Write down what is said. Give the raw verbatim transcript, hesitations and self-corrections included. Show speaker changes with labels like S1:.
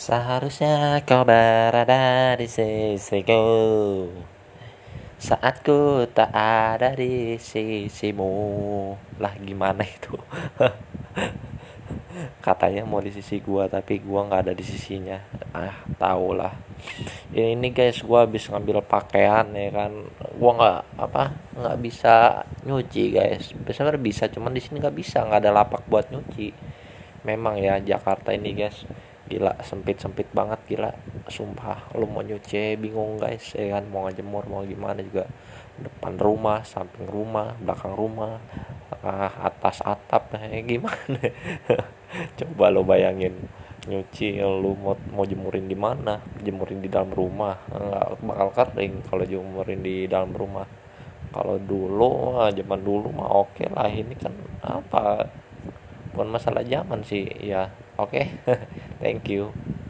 S1: Seharusnya kau berada di sisiku saat ku tak ada di sisimu. Lah gimana itu? Katanya mau di sisi gua tapi gua nggak ada di sisinya. Ah, tau lah. Ya ini guys, gua habis ngambil pakaian ya kan. Gua nggak apa nggak bisa nyuci guys. Biasanya bisa, cuman di sini nggak bisa, nggak ada lapak buat nyuci. Memang ya Jakarta ini guys, gila sempit-sempit banget, gila sumpah. Lu mau nyuci bingung guys ya kan, mau ngejemur mau gimana juga, depan rumah, samping rumah, belakang rumah, ah, atas atap, eh gimana. Coba lo bayangin, nyuci lu mau mau jemurin di mana? Jemurin di dalam rumah nggak bakal kering kalau jemurin di dalam rumah. Kalau dulu ah, zaman dulu mah oke lah, ini kan apa, bukan masalah zaman sih ya. Oke. Thank you.